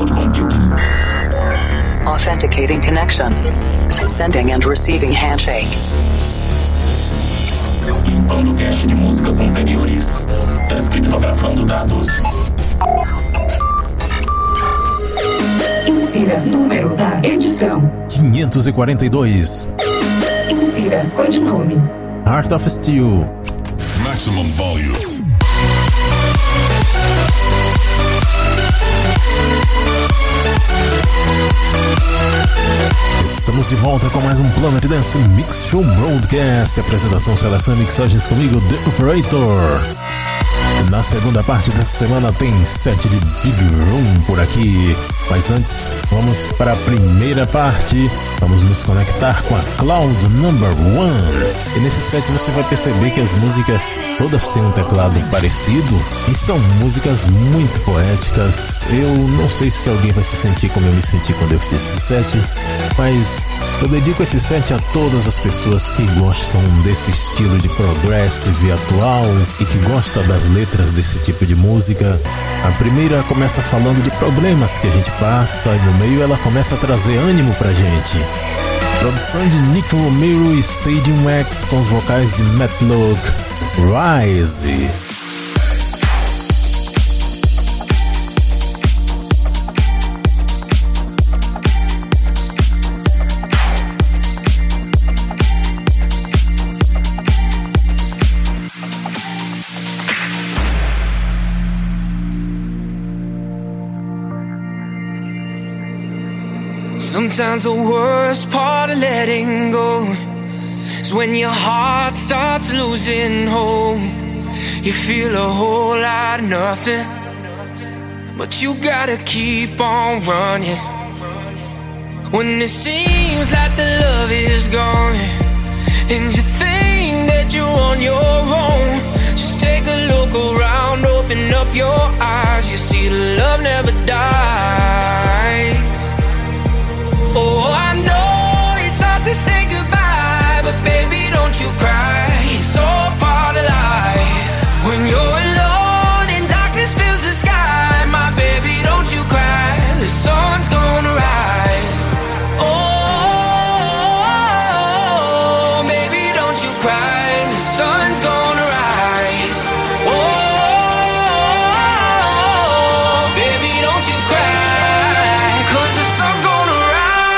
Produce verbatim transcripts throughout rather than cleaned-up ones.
cloud computing. Authenticating connection. Sending and receiving handshake. Limpando cache de músicas anteriores. Descriptografando dados. Insira número da edição quinhentos e quarenta e dois. Insira codinome Heart of Steel. Maximum volume. Estamos de volta com mais um Planet Dance Mix Show Broadcast. Apresentação, seleção e mixagens comigo, The Operator. Na segunda parte dessa semana tem set de Big Room por aqui. Mas antes, vamos para a primeira parte. Vamos nos conectar com a Cloud Number One. E nesse set você vai perceber que as músicas todas têm um teclado parecido e são músicas muito poéticas. Eu não sei se alguém vai se sentir como eu me senti quando eu fiz esse set, mas eu dedico esse set a todas as pessoas que gostam desse estilo de progressive atual e que gostam das letras desse tipo de música. A primeira começa falando de problemas que a gente passa e no meio ela começa a trazer ânimo pra gente. Produção de Nick Romero e Stadium X com os vocais de Matt Luke. Rise. Sometimes the worst part of letting go is when your heart starts losing hope. You feel a whole lot of nothing, but you gotta keep on running. When it seems like the love is gone and you think that you're on your own, just take a look around, open up your eyes. You see the love never dies. Oh, I know it's hard to say goodbye, but baby, don't you cry. It's all part of life. When you're alone and darkness fills the sky, my baby, don't you cry. The sun's gonna rise. Oh, baby, don't you cry. The sun's gonna rise. Oh, baby, don't you cry. 'Cause the sun's gonna rise.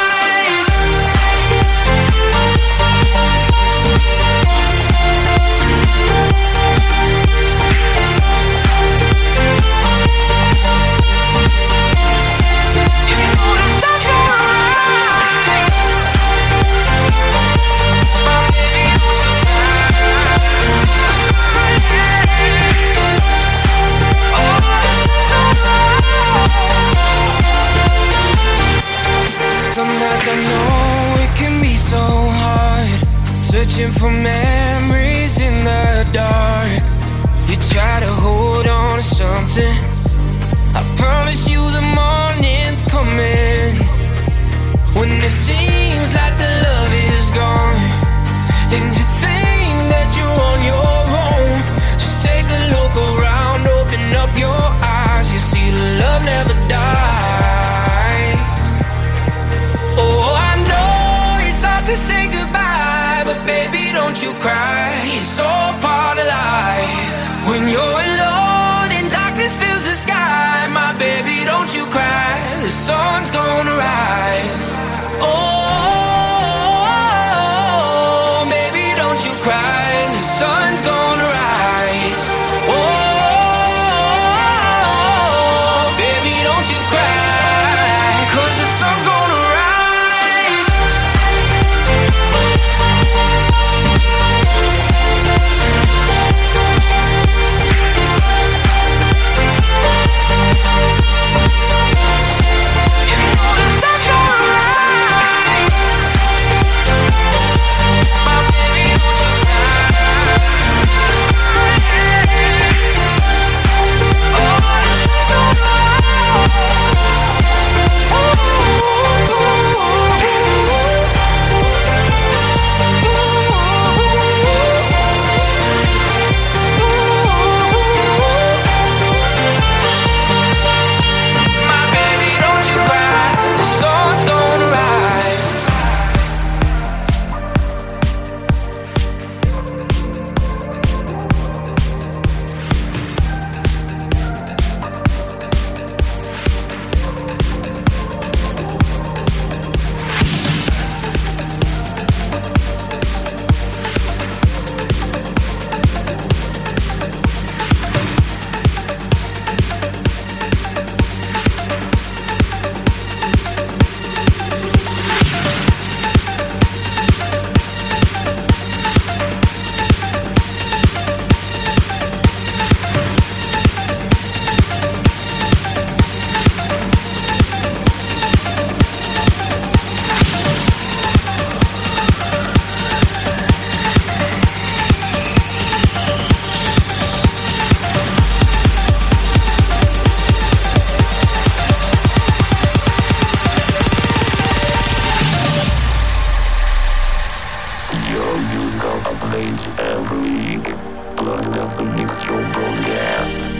Sometimes I know it can be so hard, searching for memories in the dark. You try to hold on to something, I promise you the morning's coming. When it seems like the love is gone and you think that you're on your own, just take a look around, open up your eyes. You see the love never dies. Oh, I know it's hard to say goodbye, but baby, don't you cry. It's all part of life. When you're alone and darkness fills the sky, my baby, don't you cry. The sun's gonna rise. Oh, baby, don't you cry. The sun's gonna rise. Oh, baby, don't you cry. 'Cause the sun's gonna rise. You know the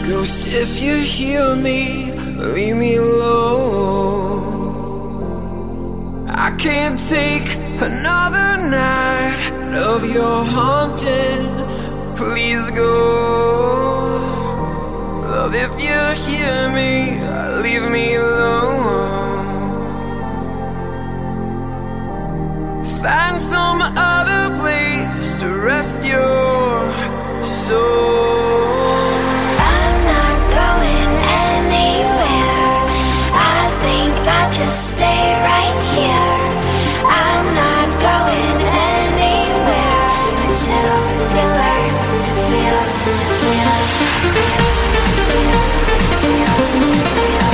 Ghost, if you hear me, leave me alone. I can't take another night of your haunting. Please go. Love, if you hear me, leave me alone. Find some other place to rest your soul. I'm not going anywhere. I think I'll just stay right here. I'm not going anywhere until you learn to feel, to feel, to feel, to feel, to feel,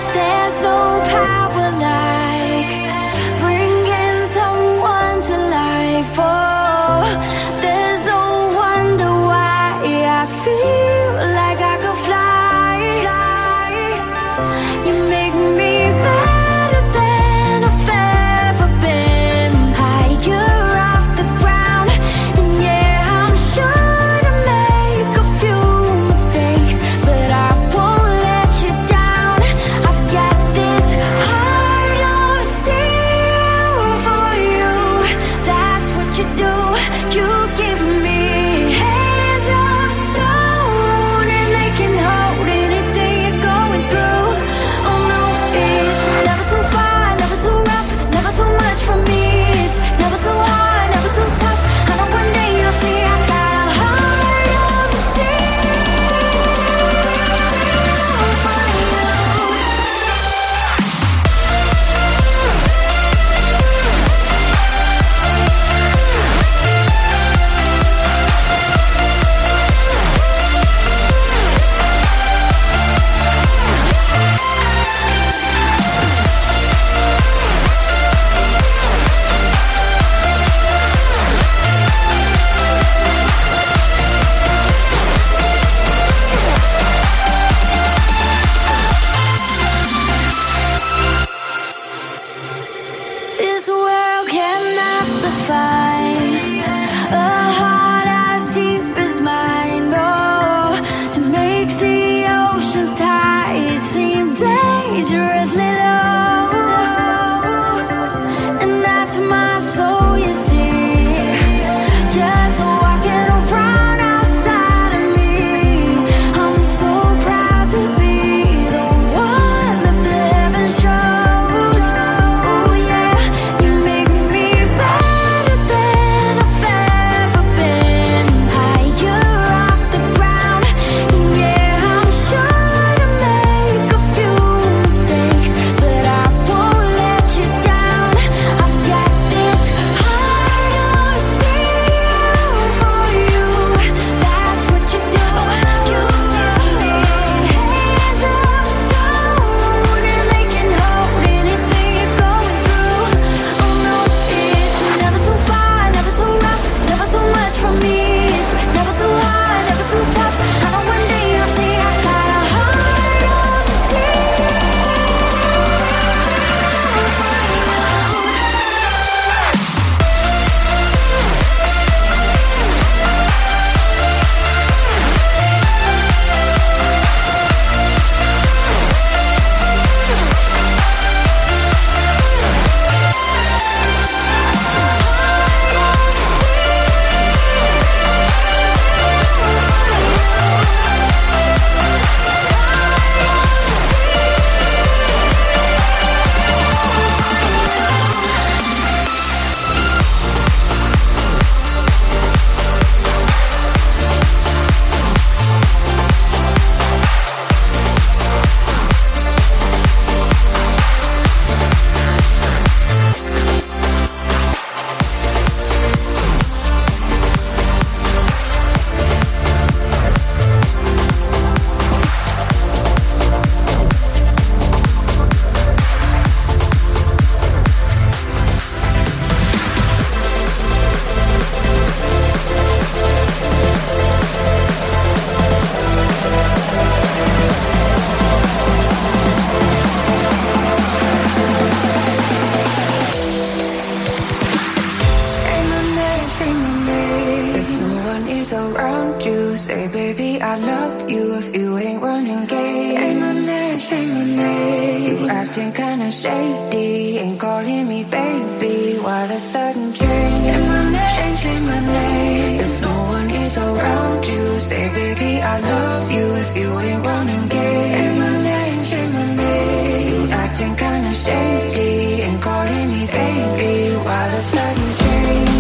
acting kinda shady, ain't calling me baby. Why the sudden change? Say my name, say my name. If no one is around you, say baby I love you. If you ain't running gay, say my name, say my name. You acting kinda shady, ain't calling me baby. Why the sudden change?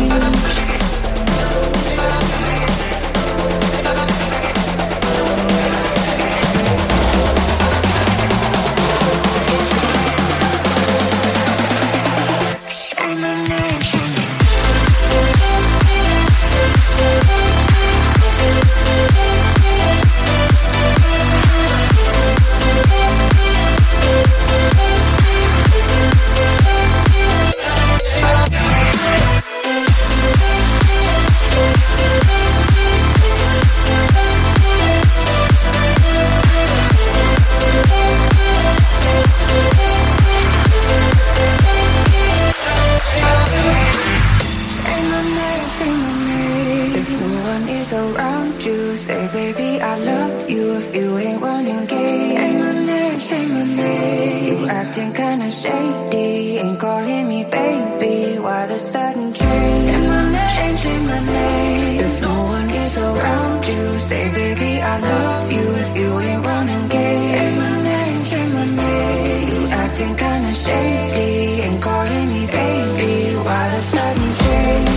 acting kinda shady. Ain't calling me baby. Why the sudden change? Say my name, say my name. If no one is around you, say baby I love you. If you ain't running gay, say my name, say my name. You acting kinda shady. Ain't calling me baby. Why the sudden change?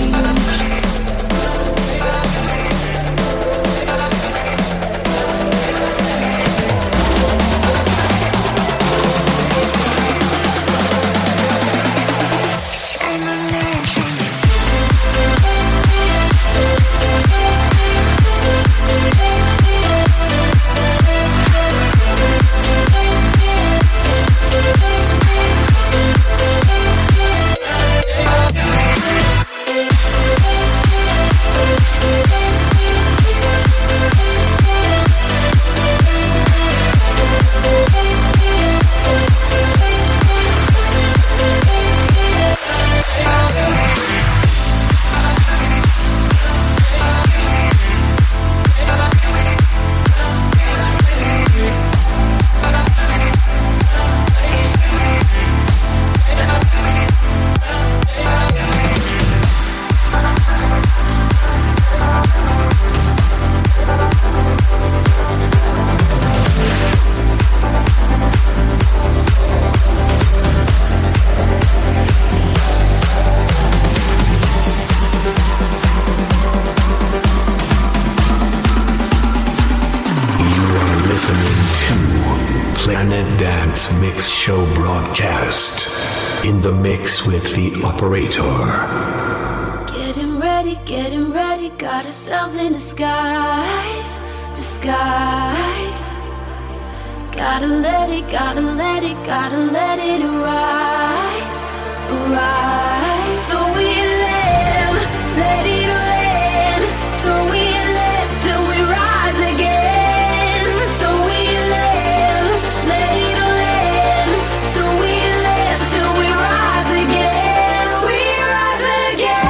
Mix Show broadcast in the mix with the operator. Getting ready, getting ready, got ourselves in disguise, disguise. Gotta let it, gotta let it, gotta let it arise, arise. So we live, let it land. So we live till we rise again. So we live, let it land. So we live till we rise again. We rise again.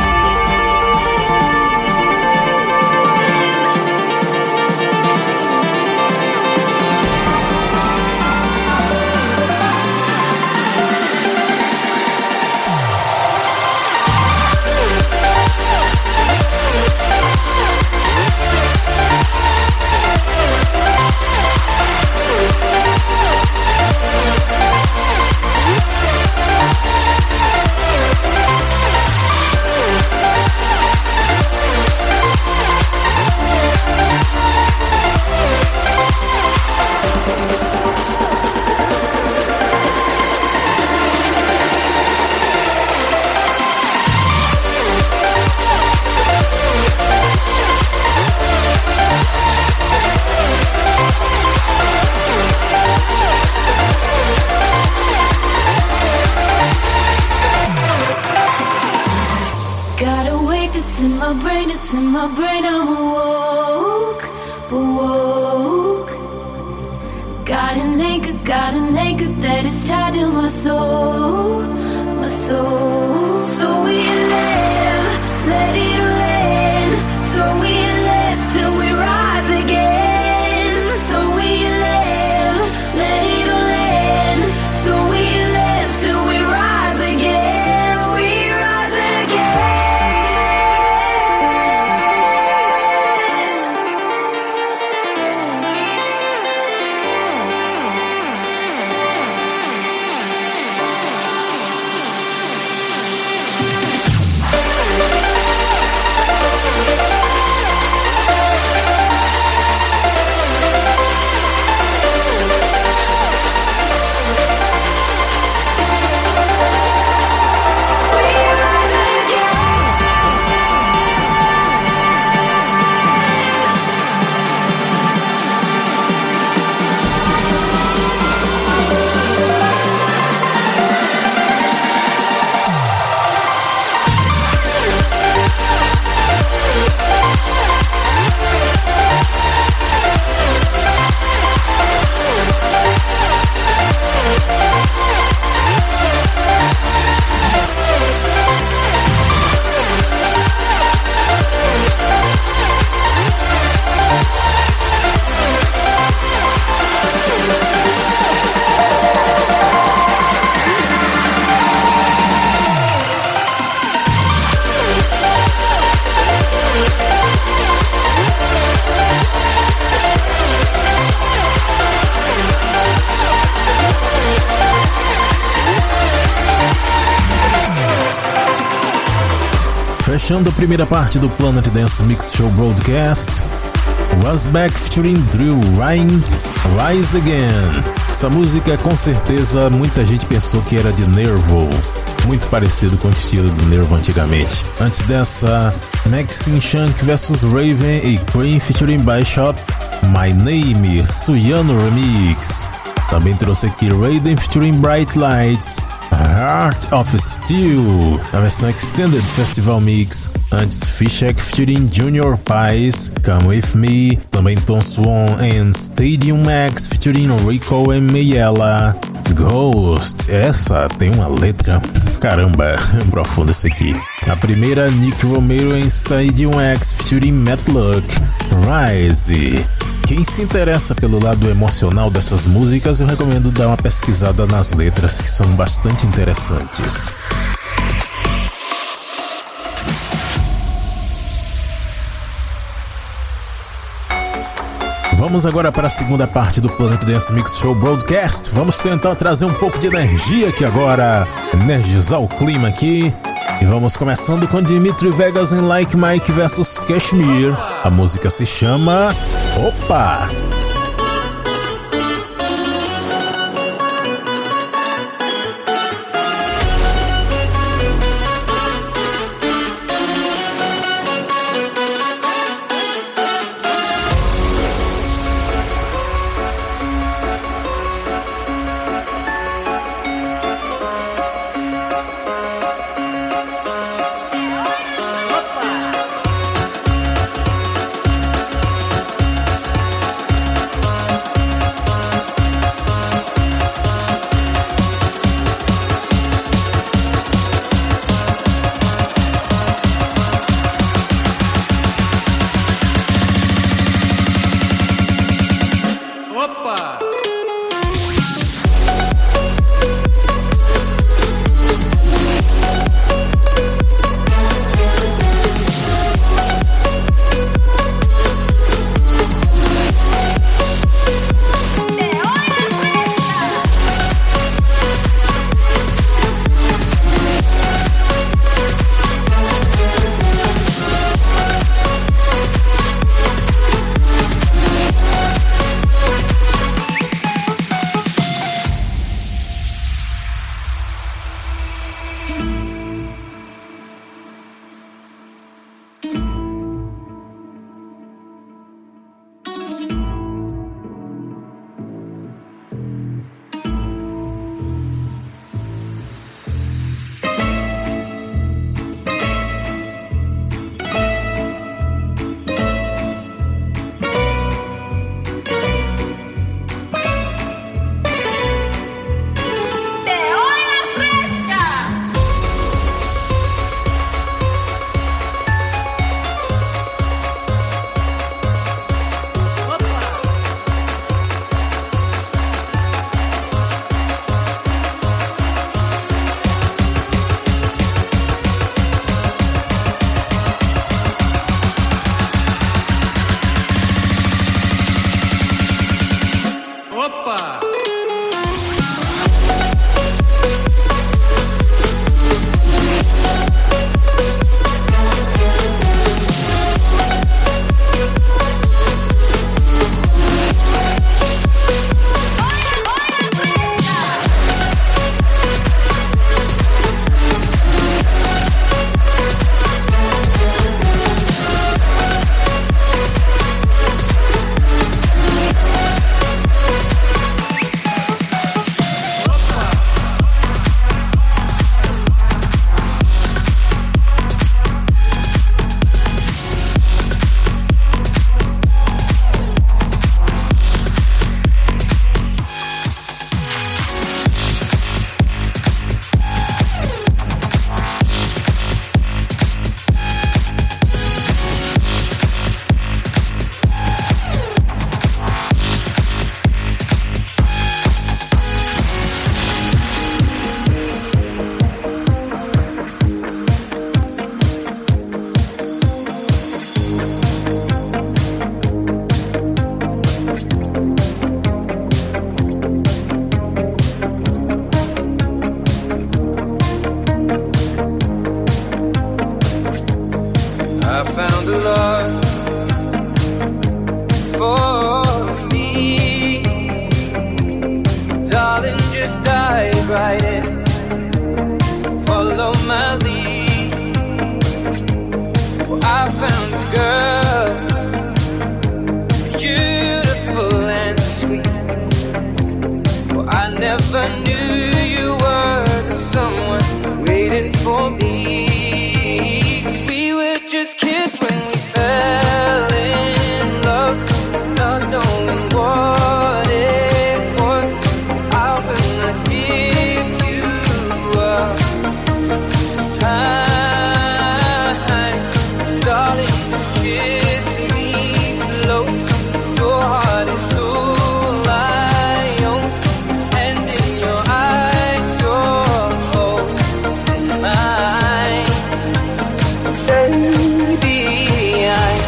In my brain, it's in my brain, I'm awoke, awoke. Got an anchor, got an anchor that is tied to my soul, my soul. So we live, let it land. So we live till we rise again. So we live, let it land. So we live till we rise again. We rise again. fechando a primeira parte do Planet Dance Mix Show Broadcast, Was Back featuring Drew Ryan, Rise Again. Essa música, com certeza, muita gente pensou que era de Nervo, muito parecido com o estilo do Nervo antigamente. Antes dessa, Maxine Shank versus Raven e Cream featuring Bishop, My Name, Suyano Remix. Também trouxe aqui Raiden featuring Bright Lights, Heart of Steel, na versão Extended Festival Mix. Antes, Fishek featuring Junior Pies, Come With Me. Também Tom Swan and Stadium Max featuring Rico and Mayella, Ghost. Essa tem uma letra, caramba, profunda essa aqui. A primeira, Nick Romero and Stadium X featuring Matlock, Rise. Quem se interessa pelo lado emocional dessas músicas, eu recomendo dar uma pesquisada nas letras, que são bastante interessantes. Vamos agora para a segunda parte do Planet Dance Mix Show Broadcast. Vamos tentar trazer um pouco de energia aqui agora, energizar o clima aqui. E vamos começando com Dimitri Vegas em Like Mike versus Kashmir. A música se chama Opa! just dive right in, follow my lead. Well, I found a girl, beautiful and sweet. Well, I never knew you were the someone waiting for me. 'Cause we were just kids when we fell in love, not knowing what it was. I will not give you up this time, darling. Just kiss me slow. Your heart is all I own, and in your eyes you're holding mine. Baby, I'm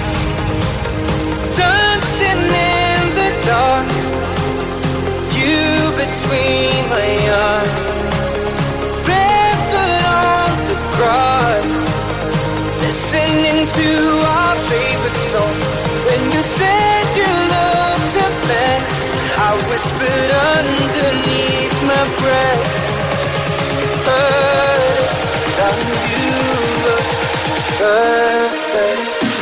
dancing in the dark, you between my arms, barefoot on the grass, listening to our favorite song. When you said you looked a mess, I whispered underneath my breath, heard that you were perfect.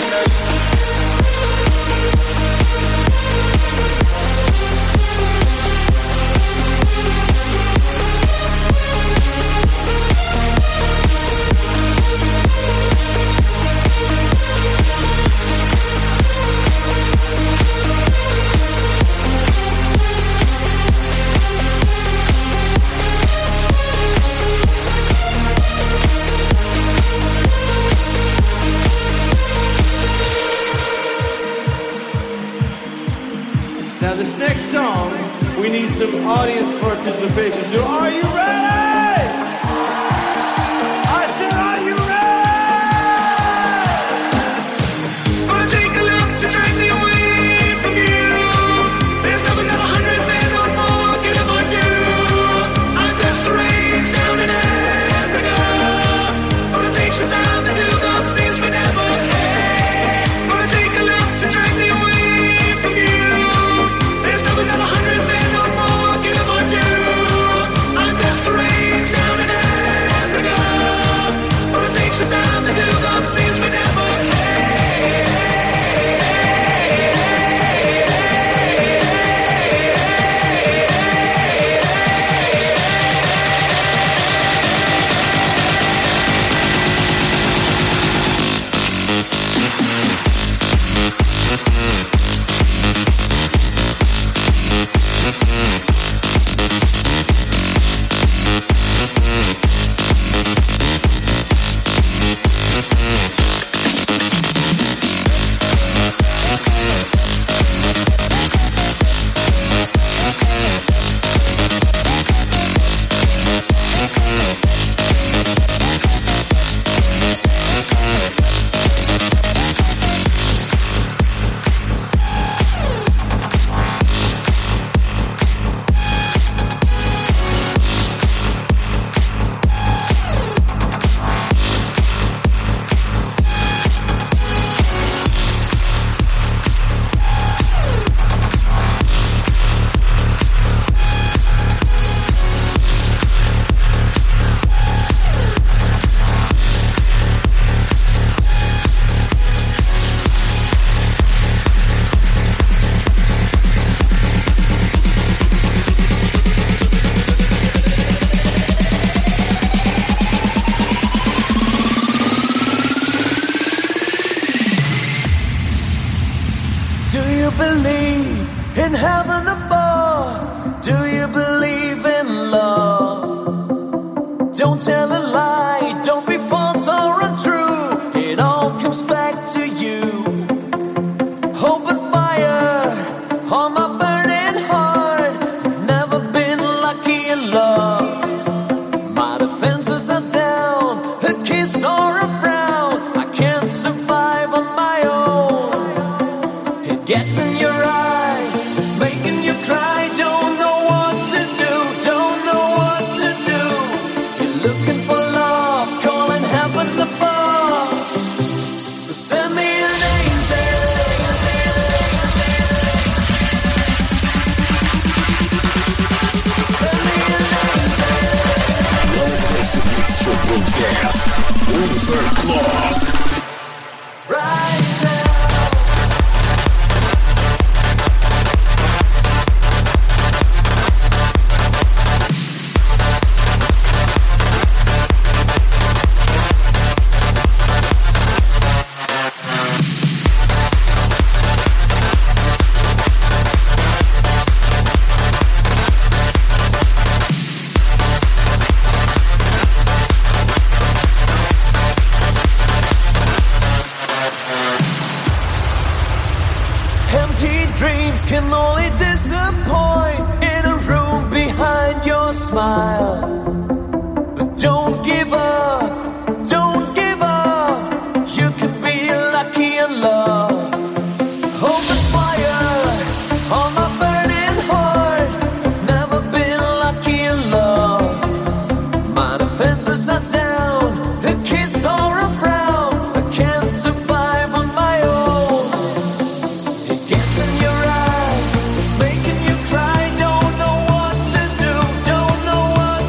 Now this next song, we need some audience participation. So are you ready? I said, are you ready? Gonna take a look to drag me away from you. There's nothing that a hundred men or more can ever do. I'm just the range down in Africa. Gonna take some time to do the things we never had. Gonna take a look to drag me away from you. There's nothing that a hundred men or more can ever do. I'm just the range down in Africa. Gonna take some time to do the things we never Do you believe in heaven above? Do you believe in love? Don't tell a lie, don't be false or untrue. It all comes back to you. Hope and fire on my burning heart. I've never been lucky in love. My defenses are down, a kiss or a frown. I can't survive on my own. Gets in your eyes, it's making you cry. Don't know what to do, don't know what to do. You're looking for love, calling heaven above. Send me an Master Clock. Right now. Dreams can only disappoint in a room behind your smile. But don't give up, don't give up. You can be lucky in love. Hold the fire on my burning heart. I've never been lucky in love. My defenses are down, a kiss or a frown. I can't survive on my own. It gets in your eyes, it's making you cry. Don't know what to do, don't know what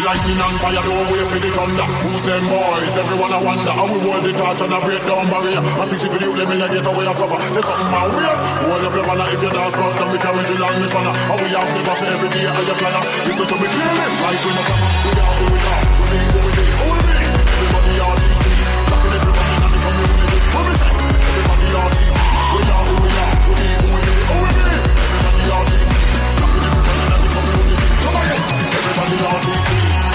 lightning and fire, don't wait for the thunder. Who's them boys? Everyone I wonder. How we hold the torch and I break down barrier. Anticipate you, let me get away and suffer. There's something my weird. Hold up the banner if you dance, but then we carry you along this banner. How we have the boss every day and your planner. Listen to me clearly, like we must have. We are who we are. We think what we think. Who we be? Everybody R T C. Laughing everybody in the community. What we say? Everybody R T C. We are who we are. We think who we be. Who we be? Everybody R T C. Laughing everybody in the community. Come on, everybody R T C.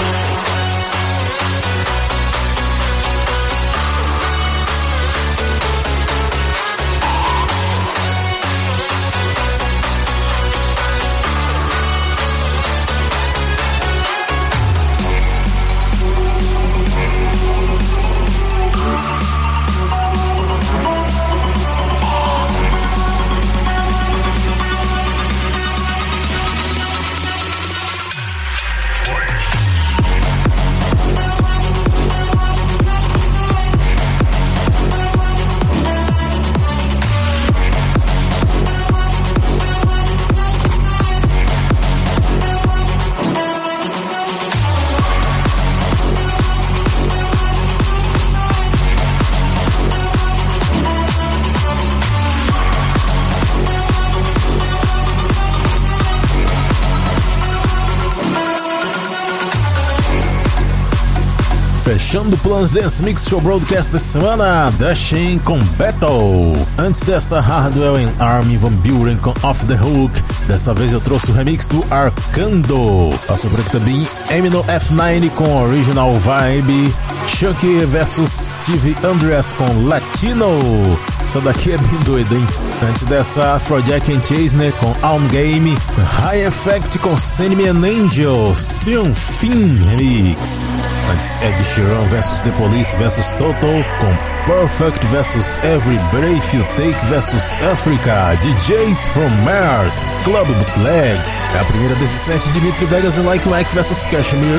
Fechando o Planet Dance Mix Show Broadcast dessa semana, Dashing com Battle. Antes dessa, Hardwell and Armin van Buuren com Off the Hook. Dessa vez eu trouxe o remix do Arcando. Passou por aqui também Eminem F nove com Original Vibe. Chuck versus Steve Andreas com Latino. Essa daqui é bem doida, hein? Antes dessa, Afrojack and Chasner com Alm Game. High Effect com Sandman Angel. Sion Fin Remix. Antes, Ed Sheeran versus The Police versus Toto com Perfect versus Every Breath You Take versus Africa. D Js from Mars, Club Bootleg. É a primeira desse set, Dimitri Vegas e Like Mike versus Kashmir.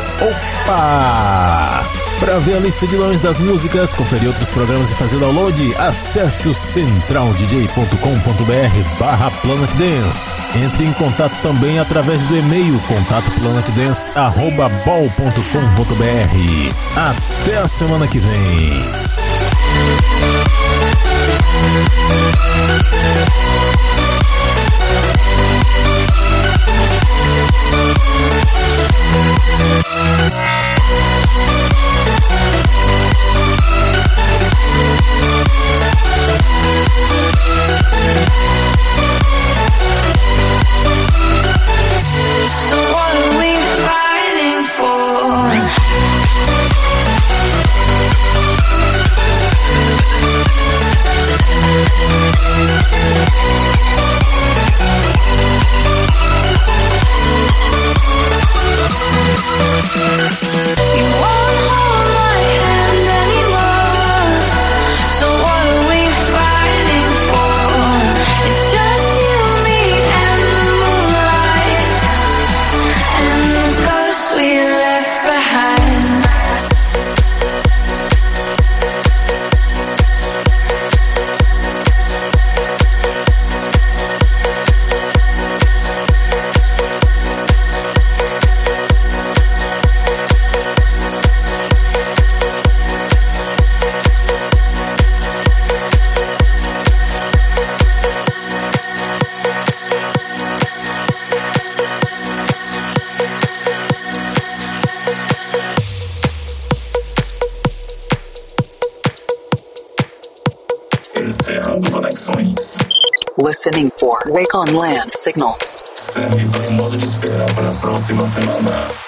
Opa! Para ver a lista de nomes das músicas, conferir outros programas e fazer download, acesse o central d j ponto com ponto b r barra Planet Dance. Entre em contato também através do e-mail contato planet dance arroba bol ponto com ponto b r. Até a semana que vem. So what are we fighting for? Encerrando conexões. Listening for Wake on Land Signal. Segue em modo de espera para a próxima semana.